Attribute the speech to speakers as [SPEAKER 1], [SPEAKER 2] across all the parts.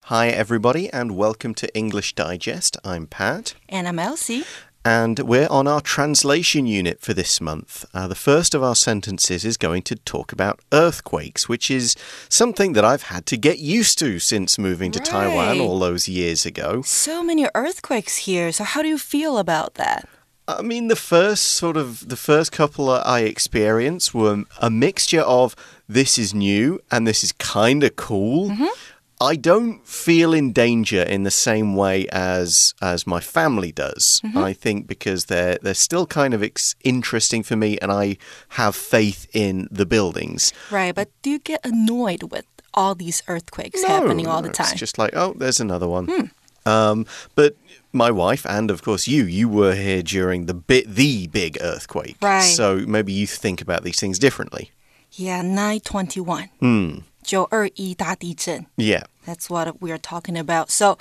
[SPEAKER 1] Hi, everybody, and welcome to English Digest. I'm Pat.
[SPEAKER 2] And I'm Elsie.
[SPEAKER 1] And we're on our translation unit for this month. The first of our sentences is going to talk about earthquakes, which is something that I've had to get used to since moving to Taiwan all those years ago.
[SPEAKER 2] So many earthquakes here. So how do you feel about that?
[SPEAKER 1] I mean, the first couple I experienced were a mixture of this is new and this is kind of cool. I don't feel in danger in the same way as my family does. I think because they're still kind of interesting for me and I have faith in the buildings.
[SPEAKER 2] Right, but do you get annoyed with all these earthquakes happening all the time?
[SPEAKER 1] It's just like, oh, there's another one. But my wife and, of course, you were here during the big earthquake.
[SPEAKER 2] Right.
[SPEAKER 1] So maybe you think about these things differently.
[SPEAKER 2] Yeah, 9/21. 9/21大地震.
[SPEAKER 1] Yeah.
[SPEAKER 2] That's what we are talking about. So,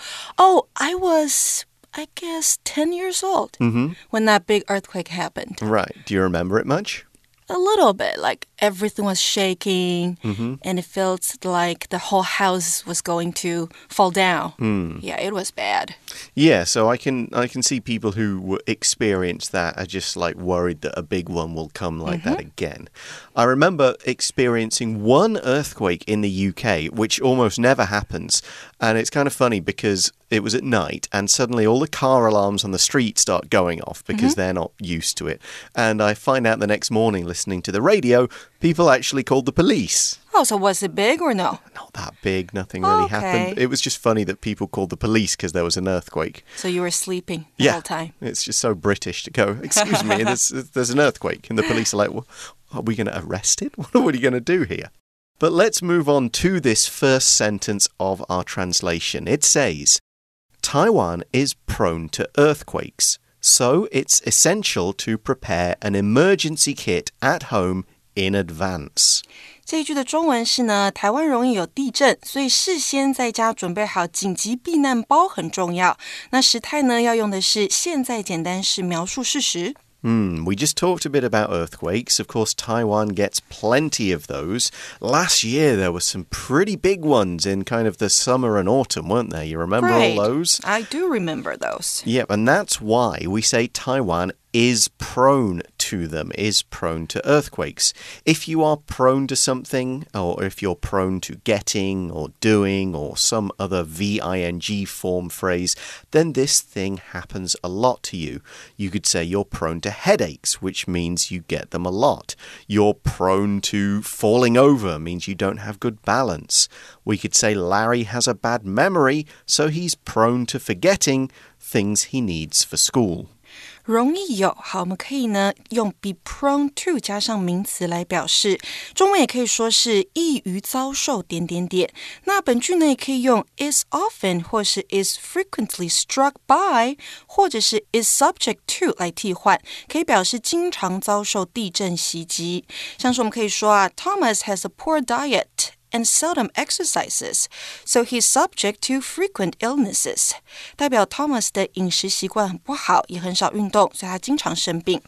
[SPEAKER 2] I was, I guess, 10 years old when that big earthquake happened.
[SPEAKER 1] Right. Do you remember it much?
[SPEAKER 2] A little bit, like everything was shaking and it felt like the whole house was going to fall down. Yeah, it was bad.
[SPEAKER 1] Yeah, so I can see people who experience that are just like worried that a big one will come like that again. I remember experiencing one earthquake in the UK, which almost never happens. And it's kind of funny because it was at night and suddenly all the car alarms on the street start going off because they're not used to it. And I find out the next morning listening to the radio, people actually called the police.
[SPEAKER 2] Oh, so was it big or no?
[SPEAKER 1] Not that big. Nothing really happened. It was just funny that people called the police because there was an earthquake.
[SPEAKER 2] So you were sleeping the whole time?
[SPEAKER 1] It's just so British to go, excuse me, there's an earthquake. And the police are like, well, are we going to arrest it? What are you going to do here? But let's move on to this first sentence of our translation. It says, Taiwan is prone to earthquakes, so it's essential to prepare an emergency kit at home in advance.
[SPEAKER 2] 这一句的中文是呢，台湾容易有地震，所以事先在家準備好緊急避難包很重要。那時態呢，要用的是現在簡單式描述事實。
[SPEAKER 1] We just talked a bit about earthquakes. Of course, Taiwan gets plenty of those. Last year, there were some pretty big ones in kind of the summer and autumn, weren't there? You remember all those?
[SPEAKER 2] I do remember those.
[SPEAKER 1] Yep, and that's why we say Taiwan is prone to them, is prone to earthquakes. If you are prone to something, or if you're prone to getting or doing or some other VING form phrase, then this thing happens a lot to you. You could say you're prone to headaches, which means you get them a lot. You're prone to falling over, means you don't have good balance. We could say Larry has a bad memory, so he's prone to forgetting things he needs for school.
[SPEAKER 2] 容易有，好，我們可以呢用 be prone to 加上名詞來表示，中文也可以說是易於遭受點點點。那本句呢也可以用 is often 或是 is frequently struck by 或者是 is subject to 來替換，可以表示經常遭受地震襲擊。像是我們可以說啊 Thomas has a poor diet and seldom exercises, so he's subject to frequent illnesses. 代表 Thomas 的飲食習慣很不好，也很少運動，所以他經常生病。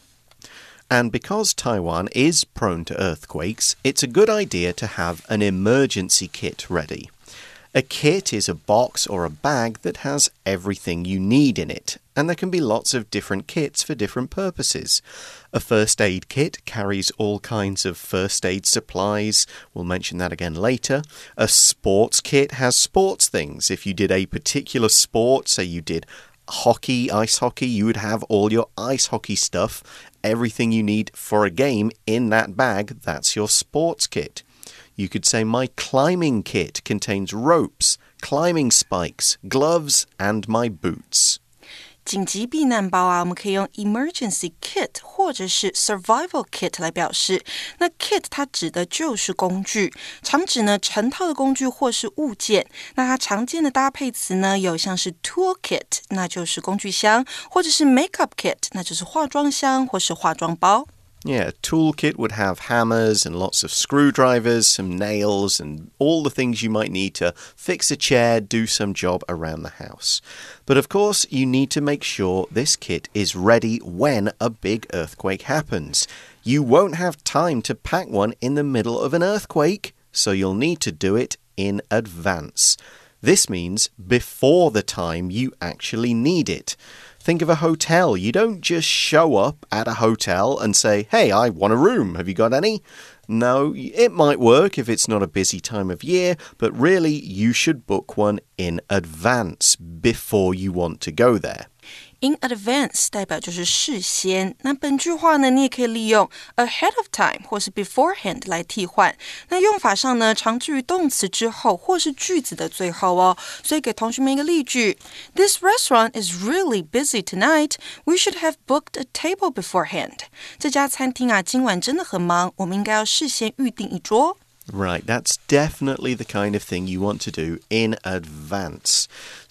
[SPEAKER 1] And because Taiwan is prone to earthquakes, it's a good idea to have an emergency kit ready. A kit is a box or a bag that has everything you need in it, and there can be lots of different kits for different purposes. A first aid kit carries all kinds of first aid supplies. We'll mention that again later. A sports kit has sports things. If you did a particular sport, say you did hockey, ice hockey, you would have all your ice hockey stuff, everything you need for a game in that bag. That's your sports kit. You could say my climbing kit contains ropes, climbing spikes, gloves, and my boots.
[SPEAKER 2] 緊急避難包啊，我們可以用 emergency kit 或者是 survival kit 來表示。那 kit 它指的就是工具，常指呢成套的工具或是物件。那它常見的搭配詞呢，有像是 tool kit， 那就是工具箱，或者是 makeup kit， 那就是化妝箱或是化妝包。
[SPEAKER 1] Yeah, a toolkit would have hammers and lots of screwdrivers, some nails, and all the things you might need to fix a chair, do some job around the house. But of course, you need to make sure this kit is ready when a big earthquake happens. You won't have time to pack one in the middle of an earthquake, so you'll need to do it in advance. This means before the time you actually need it. Think of a hotel. You don't just show up at a hotel and say, hey, I want a room. Have you got any? No, it might work if it's not a busy time of year, but really you should book one in advance before you want to go there.In
[SPEAKER 2] advance 代表就是事先，那本句話呢，你也可以利用 ahead of time 或是 beforehand 来替換。那用法上呢，常置於動詞之後或是句子的最後哦。所以給同學們一個例句 ：This restaurant is really busy tonight. We should have booked a table beforehand. 這家餐廳啊，今晚真的很忙，我們應該要事先預定一桌。
[SPEAKER 1] Right, that's definitely the kind of thing you want to do in advance.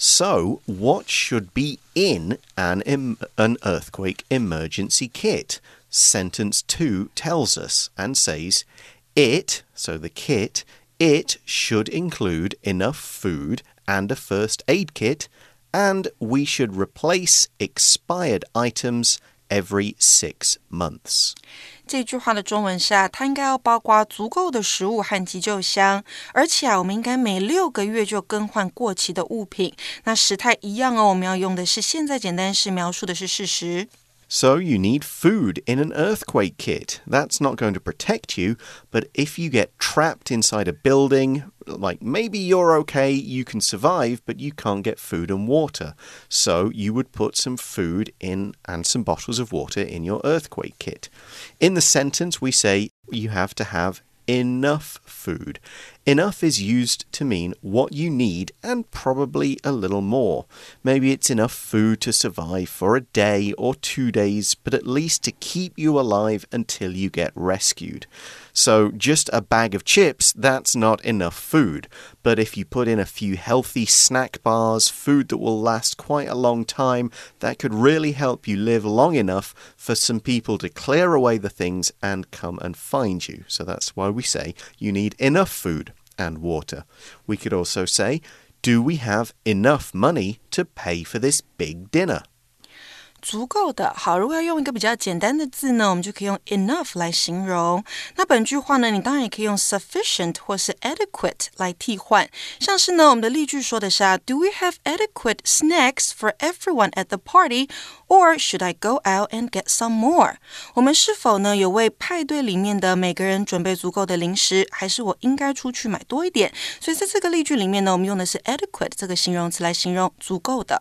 [SPEAKER 1] So, what should be in an earthquake emergency kit? Sentence 2 tells us and says, it, so the kit, it should include enough food and a first aid kit, and we should replace expired items every 6 months.
[SPEAKER 2] 这句話的中文是它應該要包括足夠的食物和急救箱，而且我們應該每6個月就更換過期的物品。那時態一樣哦，我們要用的是現在簡單式，描述的是事實。
[SPEAKER 1] So you need food in an earthquake kit. That's not going to protect you, but if you get trapped inside a building, like maybe you're okay, you can survive, but you can't get food and water. So you would put some food in and some bottles of water in your earthquake kit. In the sentence, we say you have to have enough food. Enough is used to mean what you need and probably a little more. Maybe it's enough food to survive for a day or 2 days, but at least to keep you alive until you get rescued. So just a bag of chips, that's not enough food. But if you put in a few healthy snack bars, food that will last quite a long time, that could really help you live long enough for some people to clear away the things and come and find you. So that's why we say you need enough food and water. We could also say, do we have enough money to pay for this big dinner?
[SPEAKER 2] 足夠的。好，如果要用一個比較簡單的字呢，我們就可以用 enough 來形容。那本句話呢，你當然也可以用 sufficient 或是 adequate 來替換。像是呢，我們的例句說的是Do we have adequate snacks for everyone at the party? Or should I go out and get some more? 我們是否呢有為派對裡面的每個人準備足夠的零食，還是我應該出去買多一點？所以在這個例句裡面呢，我們用的是 adequate 這個形容詞來形容足夠的。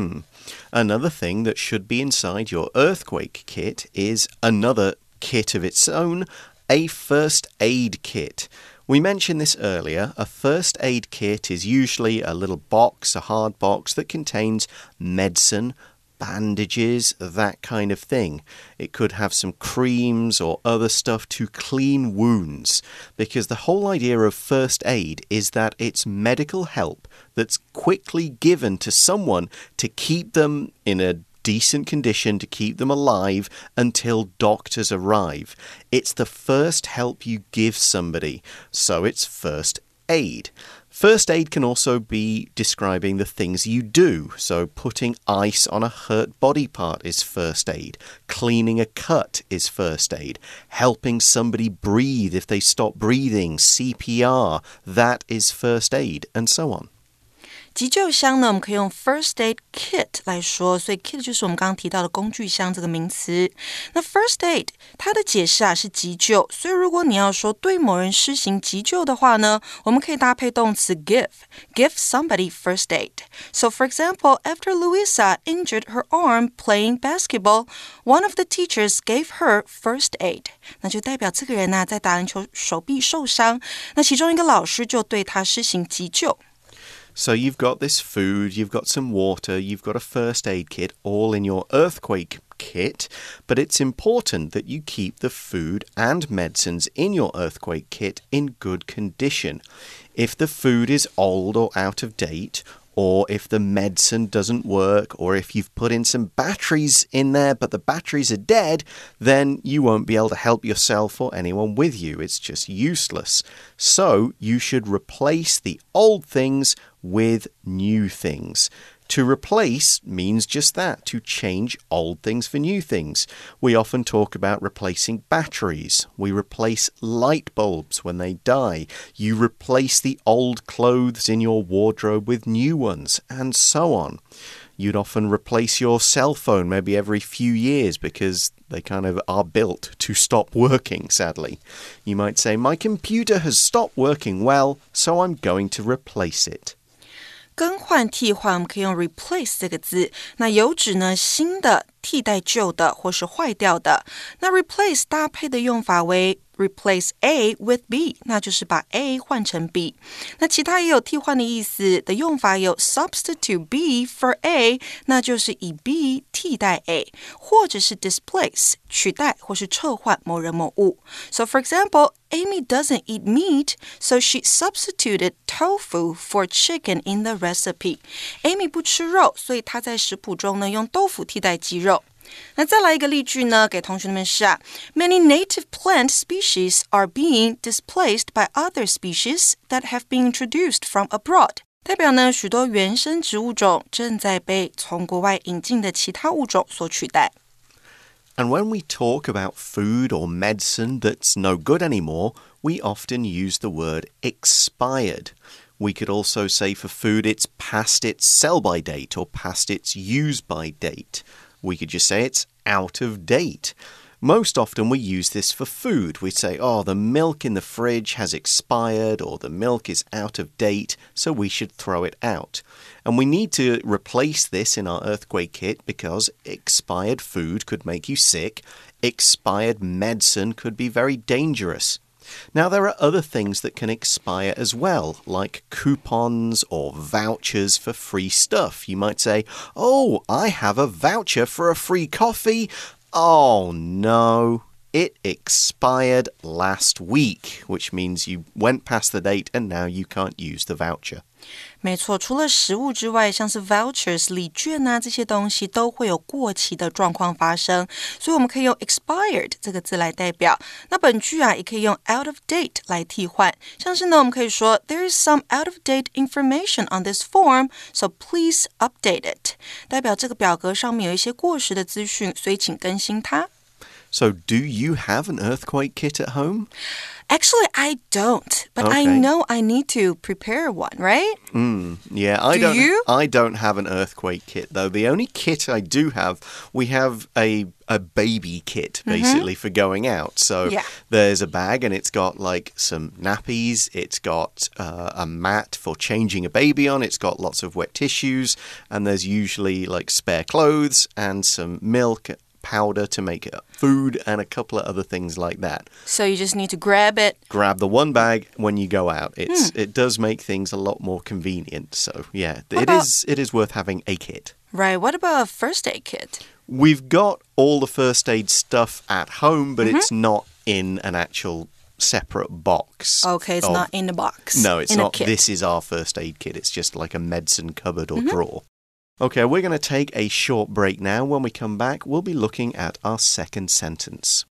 [SPEAKER 1] Another thing that should be inside your earthquake kit is another kit of its own, a first aid kit. We mentioned this earlier. A first aid kit is usually a little box, a hard box that contains medicine, bandages, that kind of thing. It could have some creams or other stuff to clean wounds, because the whole idea of first aid is that it's medical help that's quickly given to someone to keep them in a decent condition, to keep them alive until doctors arrive. It's the first help you give somebody, so it's first aid.First aid can also be describing the things you do. So putting ice on a hurt body part is first aid. Cleaning a cut is first aid. Helping somebody breathe if they stop breathing, CPR, that is first aid, and so on.
[SPEAKER 2] 急救箱呢，我们可以用 first aid kit 來說，所以 kit 就是我們剛剛提到的工具箱這個名詞。那 first aid 它的解釋是急救，所以如果你要說對某人施行急救的話呢，我們可以搭配動詞 give somebody first aid. So for example, after Louisa injured her arm playing basketball, one of the teachers gave her first aid. 那就代表這個人呢，在打籃球手臂受傷，那其中一個老師就對他施行急救。
[SPEAKER 1] So you've got this food, you've got some water, you've got a first aid kit, all in your earthquake kit, but it's important that you keep the food and medicines in your earthquake kit in good condition. If the food is old or out of date, or if the medicine doesn't work, or if you've put in some batteries in there, but the batteries are dead, then you won't be able to help yourself or anyone with you. It's just useless. So you should replace the old things with new things. To replace means just that, to change old things for new things. We often talk about replacing batteries. We replace light bulbs when they die. You replace the old clothes in your wardrobe with new ones, and so on. You'd often replace your cell phone maybe every few years because they kind of are built to stop working, sadly. You might say, my computer has stopped working well, so I'm going to replace it.
[SPEAKER 2] 更換替換我們可以用 replace 這個字，那有指呢新的替代舊的或是壞掉的。那 replace 搭配的用法為replace A with B， 那就是把 A 換成 B。那其他也有替換的意思的用法有 substitute B for A， 那就是以 B 替代 A， 或者是 displace 取代或是撤換某人某物。So for example, Amy doesn't eat meat, so she substituted tofu for chicken in the recipe. Amy 不吃肉，所以她在食譜中呢用豆腐替代雞肉。那再來一個例句呢，給同學們是Many native plant species are being displaced by other species that have been introduced from abroad. 代表呢，許多原生植物種正在被從國外引進的其他物種所取代。
[SPEAKER 1] And when we talk about food or medicine that's no good anymore, we often use the word expired. We could also say for food it's past its sell-by date or past its use-by date. We could just say it's out of date. Most often we use this for food. We say, oh, the milk in the fridge has expired or the milk is out of date, so we should throw it out. And we need to replace this in our earthquake kit because expired food could make you sick. Expired medicine could be very dangerous. Now, there are other things that can expire as well, like coupons or vouchers for free stuff. You might say, oh, I have a voucher for a free coffee. Oh, no, it expired last week, which means you went past the date and now you can't use the voucher.
[SPEAKER 2] 沒錯，除了食物之外，像是 vouchers 禮券啊，這些東西都會有過期的狀況發生，所以我們可以用 expired 這個字來代表。那本句啊，也可以用 out of date 來替換。像是呢，我們可以說 There is some out of date information on this form, so please update it. 代表這個表格上面有一些過時的資訊，所以請更新它。
[SPEAKER 1] So, do you have an earthquake kit at home?
[SPEAKER 2] Actually, I don't, but I know I need to prepare one, right?
[SPEAKER 1] Yeah, I don't have an earthquake kit, though. The only kit I do have, we have a baby kit, basically, for going out. So there's a bag, and it's got, like, some nappies. It's got a mat for changing a baby on. It's got lots of wet tissues, and there's usually, like, spare clothes and some milk, powder to make food, and a couple of other things like that.
[SPEAKER 2] So you just need to grab it.
[SPEAKER 1] Grab the one bag when you go out. It does make things a lot more convenient. So, yeah, it is worth having a kit.
[SPEAKER 2] Right. What about a first aid kit?
[SPEAKER 1] We've got all the first aid stuff at home, but it's not in an actual separate box.
[SPEAKER 2] Okay, it's not in the box.
[SPEAKER 1] No, it's not. This is our first aid kit. It's just like a medicine cupboard or drawer. Okay, we're going to take a short break now. When we come back, we'll be looking at our second sentence.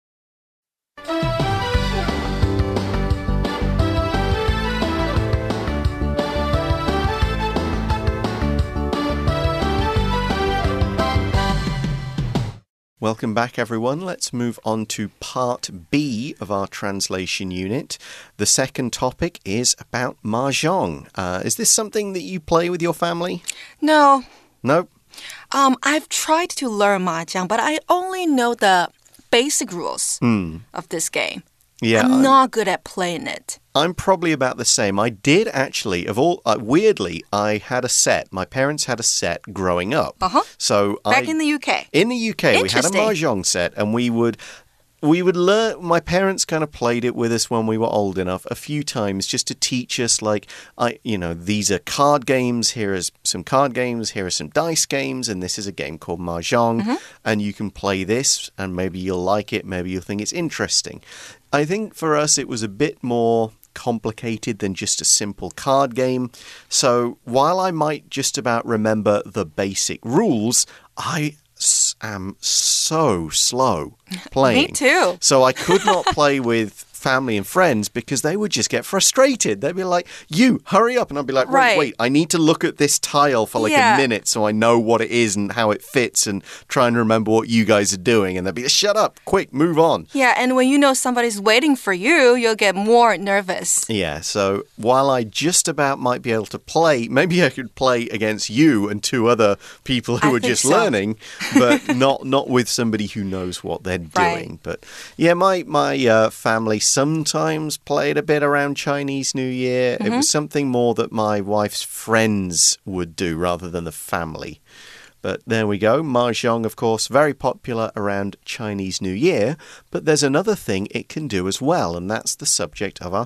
[SPEAKER 1] Welcome back, everyone. Let's move on to part B of our translation unit. The second topic is about mahjong. Is this something that you play with your family?
[SPEAKER 2] No.
[SPEAKER 1] No?
[SPEAKER 2] I've tried to learn mahjong, but I only know the basic rules of this game.
[SPEAKER 1] Yeah,
[SPEAKER 2] I'm not good at playing it.
[SPEAKER 1] I'm probably about the same. I did actually, weirdly, I had a set. My parents had a set growing up. So
[SPEAKER 2] Back in the UK?
[SPEAKER 1] In the UK, we had a mahjong set, and we would learn. My parents kind of played it with us when we were old enough a few times just to teach us, like, these are card games. Here are some card games. Here are some dice games. And this is a game called mahjong. And you can play this, and maybe you'll like it. Maybe you'll think it's interesting. I think for us, it was a bit more complicated than just a simple card game. So while I might just about remember the basic rules, I am so slow playing.
[SPEAKER 2] Me too.
[SPEAKER 1] So I could not play with family and friends because they would just get frustrated. They'd be like, you, hurry up. And I'd be like, wait, I need to look at this tile for like a minute so I know what it is and how it fits and try and remember what you guys are doing. And they'd be like, shut up, quick, move on.
[SPEAKER 2] Yeah, and when you know somebody's waiting for you, you'll get more nervous.
[SPEAKER 1] Yeah, so while I just about might be able to play, maybe I could play against you and two other people who are just learning, but not with somebody who knows what they're doing. But yeah, my family sometimes played a bit around Chinese New Year. It was something more that my wife's friends would do rather than the family. But there we go. Mahjong, of course, very popular around Chinese New Year. But there's another thing it can do as well, and that's the subject of our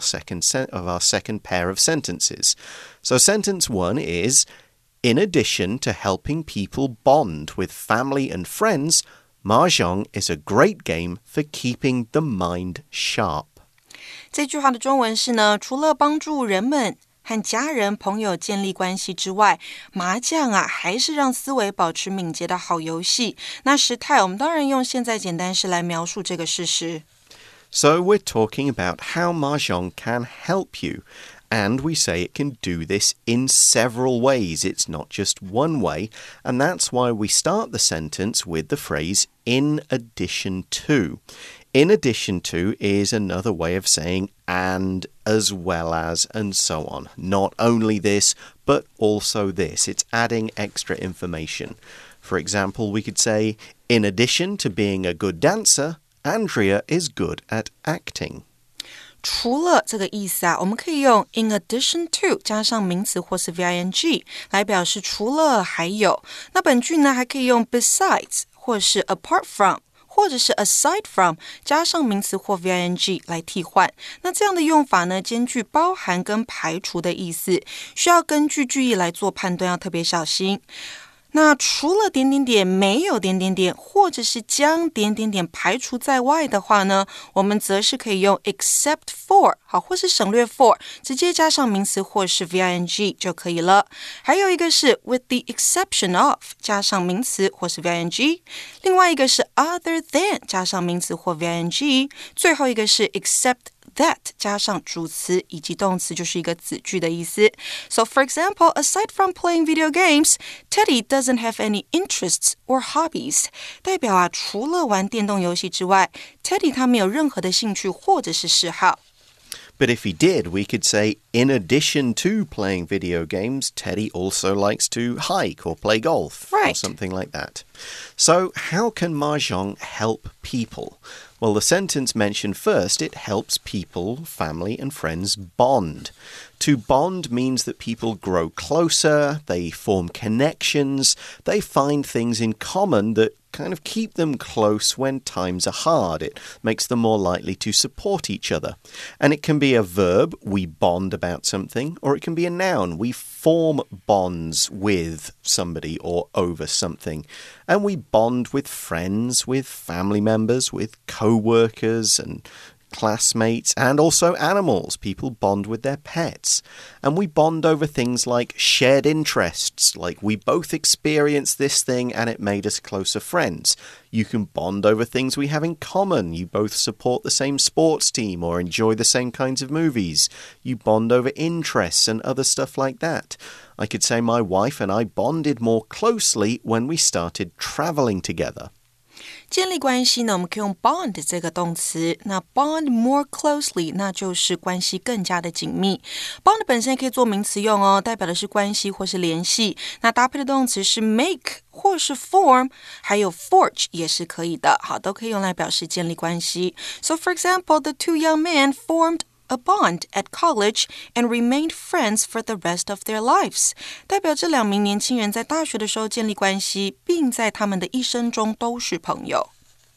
[SPEAKER 1] second pair of sentences. So sentence 1 is, in addition to helping people bond with family and friends, Mahjong is a great game for keeping the mind sharp.
[SPEAKER 2] 这句话的中文是呢，除了帮助人们和家人朋友建立关系之外，麻将啊还是让思維保持敏捷的好遊戲。那時態我們當然用現在簡單式來描述這個事實。
[SPEAKER 1] So we're talking about how Mahjong can help you. And we say it can do this in several ways. It's not just one way. And that's why we start the sentence with the phrase, in addition to. In addition to is another way of saying and, as well as, and so on. Not only this, but also this. It's adding extra information. For example, we could say, in addition to being a good dancer, Andrea is good at acting.
[SPEAKER 2] 除了这個意思啊，我們可以用 in addition to 加上名詞或是 VING 來表示除了還有。那本句呢還可以用 besides 或是 apart from 或者是 aside from 加上名詞或 VING 來替換。那這樣的用法呢，兼具包含跟排除的意思，需要根據句意來做判斷，要特別小心。那除了點點點沒有點點點，或者是將點點點排除在外的話呢，我們則是可以用 except for 好，或是省略 for 直接加上名詞或是 VING 就可以了。還有一個是 with the exception of 加上名詞或是 VING， 另外一個是 other than 加上名詞或 VING， 最後一個是 except that 加上主詞以及動詞，就是一個子句的意思。So for example, aside from playing video games, Teddy doesn't have any interests or hobbies. 代表啊，除了玩電動遊戲之外 ，Teddy 他沒有任何的興趣或者是嗜好。
[SPEAKER 1] But if he did, we could say, in addition to playing video games, Teddy also likes to hike or play golf or something like that. So how can Mahjong help people? Well, the sentence mentioned first, it helps people, family and friends bond. To bond means that people grow closer, they form connections, they find things in common that kind of keep them close when times are hard. It makes them more likely to support each other. And it can be a verb, we bond about something, or it can be a noun, we form bonds with somebody or over something. And we bond with friends, with family members, with co-workers and classmates, and also animals. People bond with their pets. And we bond over things like shared interests, like we both experienced this thing and it made us closer friends. You can bond over things we have in common. You both support the same sports team or enjoy the same kinds of movies. You bond over interests and other stuff like that. I could say my wife and I bonded more closely when we started traveling together.
[SPEAKER 2] 建立關係呢，我們可以用 bond 這個動詞。那 bond more closely 那就是關係更加的緊密。bond 本身也可以做名詞用哦，代表的是關係或是聯繫。那搭配的動詞是 make 或是 form， 還有 forge 也是可以的。好，都可以用來表示建立關係。So for example, the two young men formed a bond at college and remained friends for the rest of their lives. 代表這兩名年輕人在大學的時候建立關係，並在他們的一生中都是朋友。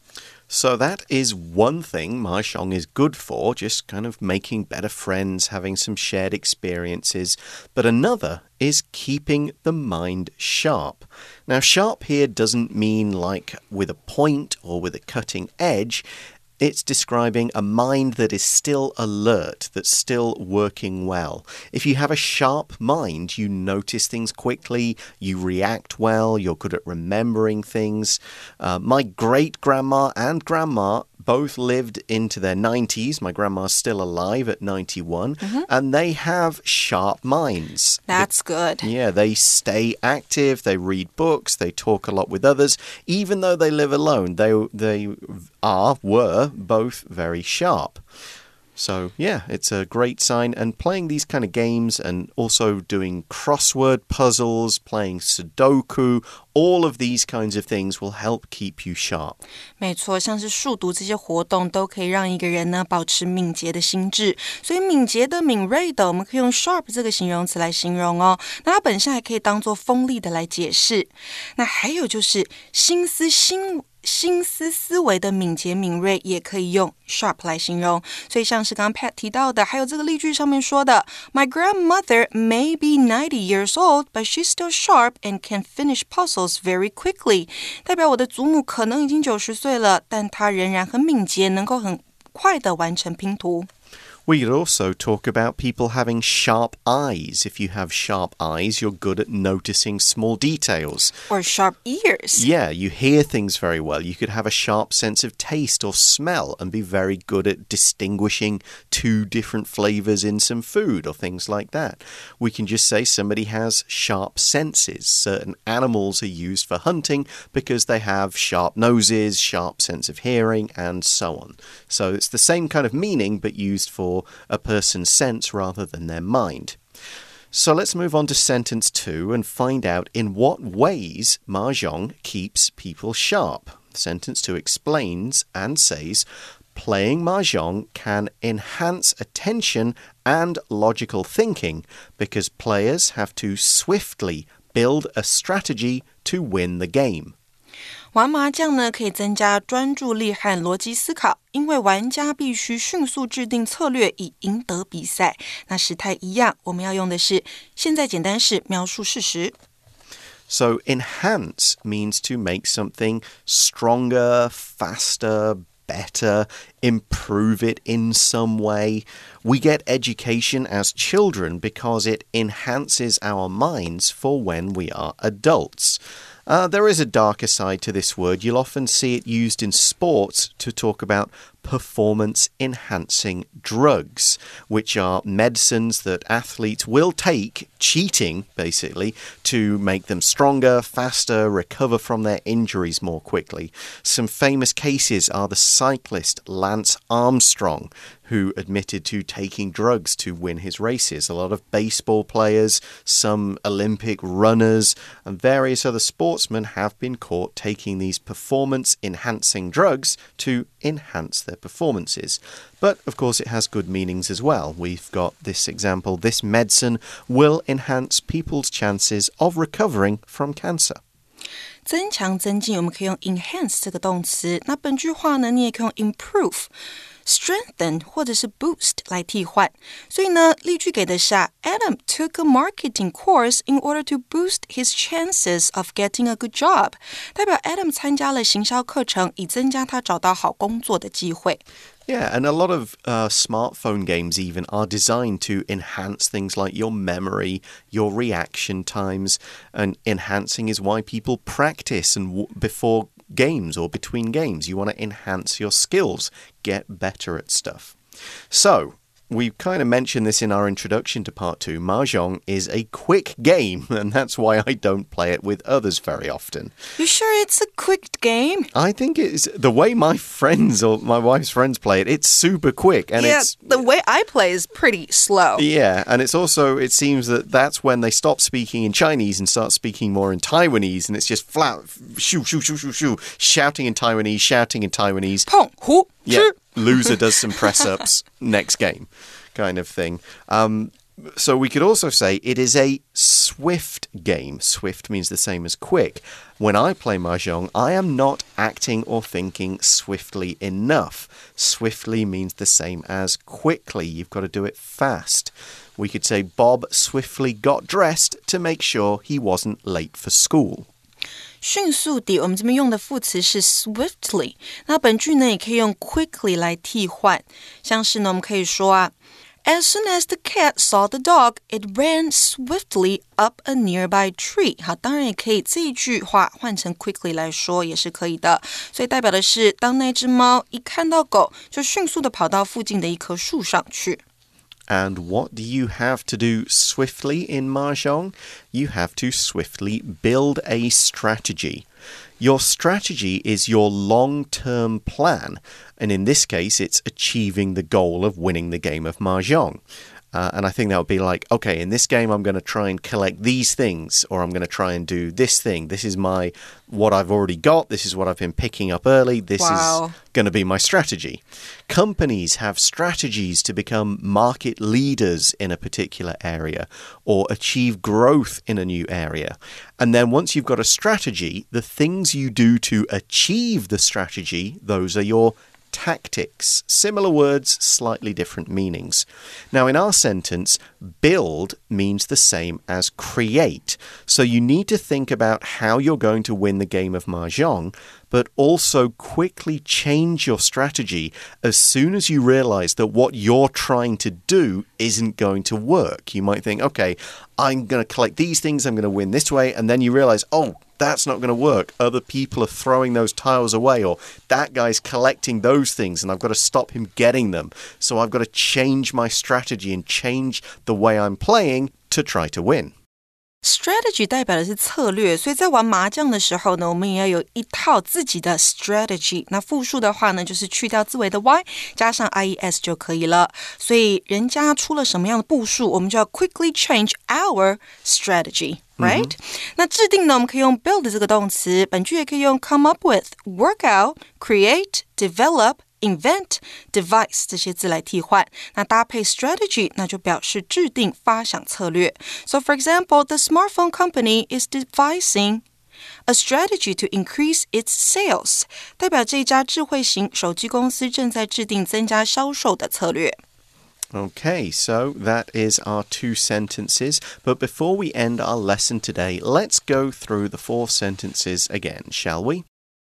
[SPEAKER 1] So that is one thing Mahjong is good for, just kind of making better friends, having some shared experiences. But another is keeping the mind sharp. Now, sharp here doesn't mean like with a point or with a cutting edge. It's describing a mind that is still alert, that's still working well. If you have a sharp mind, you notice things quickly, you react well, you're good at remembering things. My great-grandma and grandma both lived into their 90s. My grandma's still alive at 91. And they have sharp minds.
[SPEAKER 2] That's good.
[SPEAKER 1] Yeah, they stay active, they read books, they talk a lot with others. Even though they live alone, they were both very sharp. So, yeah, it's a great sign. And playing these kind of games and also doing crossword puzzles, playing Sudoku, all of these kinds of things will help keep you sharp.
[SPEAKER 2] 没錯，像是数独这些活动都可以让一个人呢保持敏捷的心智。所以敏捷的、敏锐的，我們可以用 sharp 這個形容詞來形容哦。那它本身還可以當做鋒利的來解釋。那還有就是心思思維的敏捷敏銳也可以用 sharp 來形容，所以像是剛剛 Pat 提到的，還有這個例句上面說的 My grandmother may be 90 years old, but she's still sharp and can finish puzzles very quickly. 代表我的祖母可能已經90歲了，但她仍然很敏捷，能夠很快的完成拼圖。
[SPEAKER 1] We could also talk about people having sharp eyes. If you have sharp eyes, you're good at noticing small details.
[SPEAKER 2] Or sharp ears.
[SPEAKER 1] Yeah, you hear things very well. You could have a sharp sense of taste or smell and be very good at distinguishing two different flavors in some food or things like that. We can just say somebody has sharp senses. Certain animals are used for hunting because they have sharp noses, sharp sense of hearing, and so on. So it's the same kind of meaning, but used for a person's sense rather than their mind. So let's move on to sentence 2 and find out in what ways mahjong keeps people sharp. Sentence 2 explains and says, playing mahjong can enhance attention and logical thinking because players have to swiftly build a strategy to win the game.
[SPEAKER 2] 玩麻將呢，可以增加專注力和邏輯思考，因為玩家必須迅速制定策略以贏得比賽。那時態一樣，我們要用的是現在簡單式描述事實。
[SPEAKER 1] So enhance means to make something stronger, faster, better, improve it in some way. We get education as children because it enhances our minds for when we are adults. There is a darker side to this word. You'll often see it used in sports to talk about performance-enhancing drugs, which are medicines that athletes will take, cheating basically, to make them stronger, faster, recover from their injuries more quickly. Some famous cases are the cyclist Lance Armstrong, who admitted to taking drugs to win his races. A lot of baseball players, some Olympic runners, and various other sportsmen have been caught taking these performance-enhancing drugs to enhance their performances. But, of course, it has good meanings as well. We've got this example. This medicine will enhance people's chances of recovering from cancer.
[SPEAKER 2] 增強增進，我們可以用 enhance 這個動詞。那本句話呢，你也可以用 improve、strengthen 或者是 boost 來替換。所以呢，例句給的是Adam took a marketing course in order to boost his chances of getting a good job. 代表 Adam 參加了行銷課程，以增加他找到好工作的機會。
[SPEAKER 1] Yeah, and a lot of smartphone games even are designed to enhance things like your memory, your reaction times, and enhancing is why people practice and before games or between games. You want to enhance your skills, get better at stuff. So, we kind of mentioned this in our introduction to part 2. Mahjong is a quick game, and that's why I don't play it with others very often.
[SPEAKER 2] You sure it's a quick game?
[SPEAKER 1] I think it's the way my friends or my wife's friends play it. It's super quick, and
[SPEAKER 2] the way I play is pretty slow.
[SPEAKER 1] Yeah, and it's also, it seems that that's when they stop speaking in Chinese and start speaking more in Taiwanese, and it's just flat, shoo, shoo, shoo, shoo, shoo, shouting in Taiwanese, shouting in Taiwanese.
[SPEAKER 2] Pong, hu,
[SPEAKER 1] yeah, loser does some press-ups, next game, kind of thing. So we could also say it is a swift game. Swift means the same as quick. When I play Mahjong, I am not acting or thinking swiftly enough. Swiftly means the same as quickly. You've got to do it fast. We could say Bob swiftly got dressed to make sure he wasn't late for school.
[SPEAKER 2] 迅速地，我們這邊用的副詞是 swiftly。那本句呢，也可以用 quickly 來替換。像是呢，我們可以說 As soon as the cat saw the dog, it ran swiftly up a nearby tree. 好，当然也可以这一句话换成 quickly 来说也是可以的。所以代表的是，当那只猫一看到狗，就迅速的跑到附近的一棵树上去。
[SPEAKER 1] And what do you have to do swiftly in Mahjong? You have to swiftly build a strategy. Your strategy is your long-term plan. And in this case, it's achieving the goal of winning the game of Mahjong. And I think that would be like, okay, in this game, I'm going to try and collect these things, or I'm going to try and do this thing. This is what I've already got. This is what I've been picking up early. This is going to be my strategy. Companies have strategies to become market leaders in a particular area or achieve growth in a new area. And then once you've got a strategy, the things you do to achieve the strategy, those are your tactics. Similar words, slightly different meanings. Now, in our sentence, build means the same as create. So you need to think about how you're going to win the game of Mahjong, but also quickly change your strategy as soon as you realize that what you're trying to do isn't going to work. You might think, okay, I'm going to collect these things, I'm going to win this way, and then you realize, oh, that's not going to work. Other people are throwing those tiles away, or that guy's collecting those things and I've got to stop him getting them. So I've got to change my strategy and change the way I'm playing to try to win.
[SPEAKER 2] Strategy 代表的是策略，所以在玩麻将的时候呢，我们也要有一套自己的 strategy。那复数的话呢，就是去掉字尾的 y， 加上 ies 就可以了。所以人家出了什麼樣的步數，我們就要 quickly change our strategy。Right? 那制定呢，我們可以用 build 這個動詞，本句也可以用 come up with, work out, create, develop, invent, devise 這些字來替換。那搭配 strategy 那就表示制定發想策略。So for example, the smartphone company is devising a strategy to increase its sales. 代表這家智慧型手機公司正在制定增加銷售的策略。
[SPEAKER 1] Okay, so that is our 2 sentences. But before we end our lesson today, let's go through the 4 sentences again, shall we?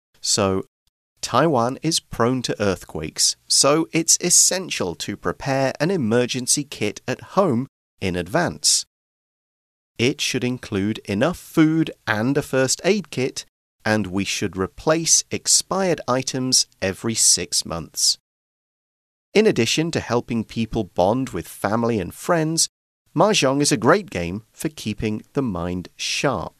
[SPEAKER 1] So, Taiwan is prone to earthquakes, so it's essential to prepare an emergency kit at home in advance. It should include enough food and a first aid kit, and we should replace expired items every 6 months. In addition to helping people bond with family and friends, Mahjong is a great game for keeping the mind sharp.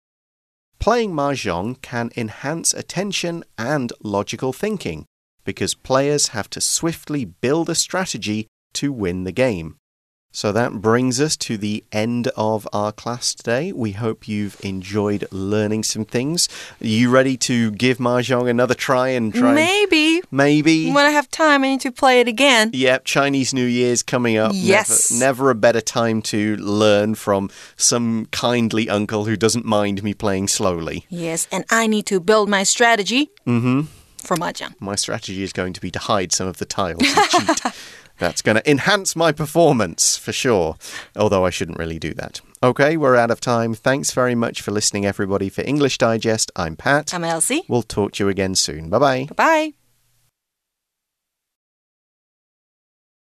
[SPEAKER 1] Playing Mahjong can enhance attention and logical thinking because players have to swiftly build a strategy to win the game. So that brings us to the end of our class today. We hope you've enjoyed learning some things. Are you ready to give Mahjong another try and try?
[SPEAKER 2] Maybe.
[SPEAKER 1] Maybe.
[SPEAKER 2] When I have time, I need to play it again.
[SPEAKER 1] Yep, Chinese New Year's coming up.
[SPEAKER 2] Yes.
[SPEAKER 1] Never a better time to learn from some kindly uncle who doesn't mind me playing slowly.
[SPEAKER 2] Yes, and I need to build my strategy for Mahjong.
[SPEAKER 1] My strategy is going to be to hide some of the tiles and cheat. That's going to enhance my performance, for sure. Although I shouldn't really do that. Okay, we're out of time. Thanks very much for listening, everybody. For English Digest, I'm Pat.
[SPEAKER 2] I'm Elsie.
[SPEAKER 1] We'll talk to you again soon. Bye-bye.
[SPEAKER 2] Bye-bye.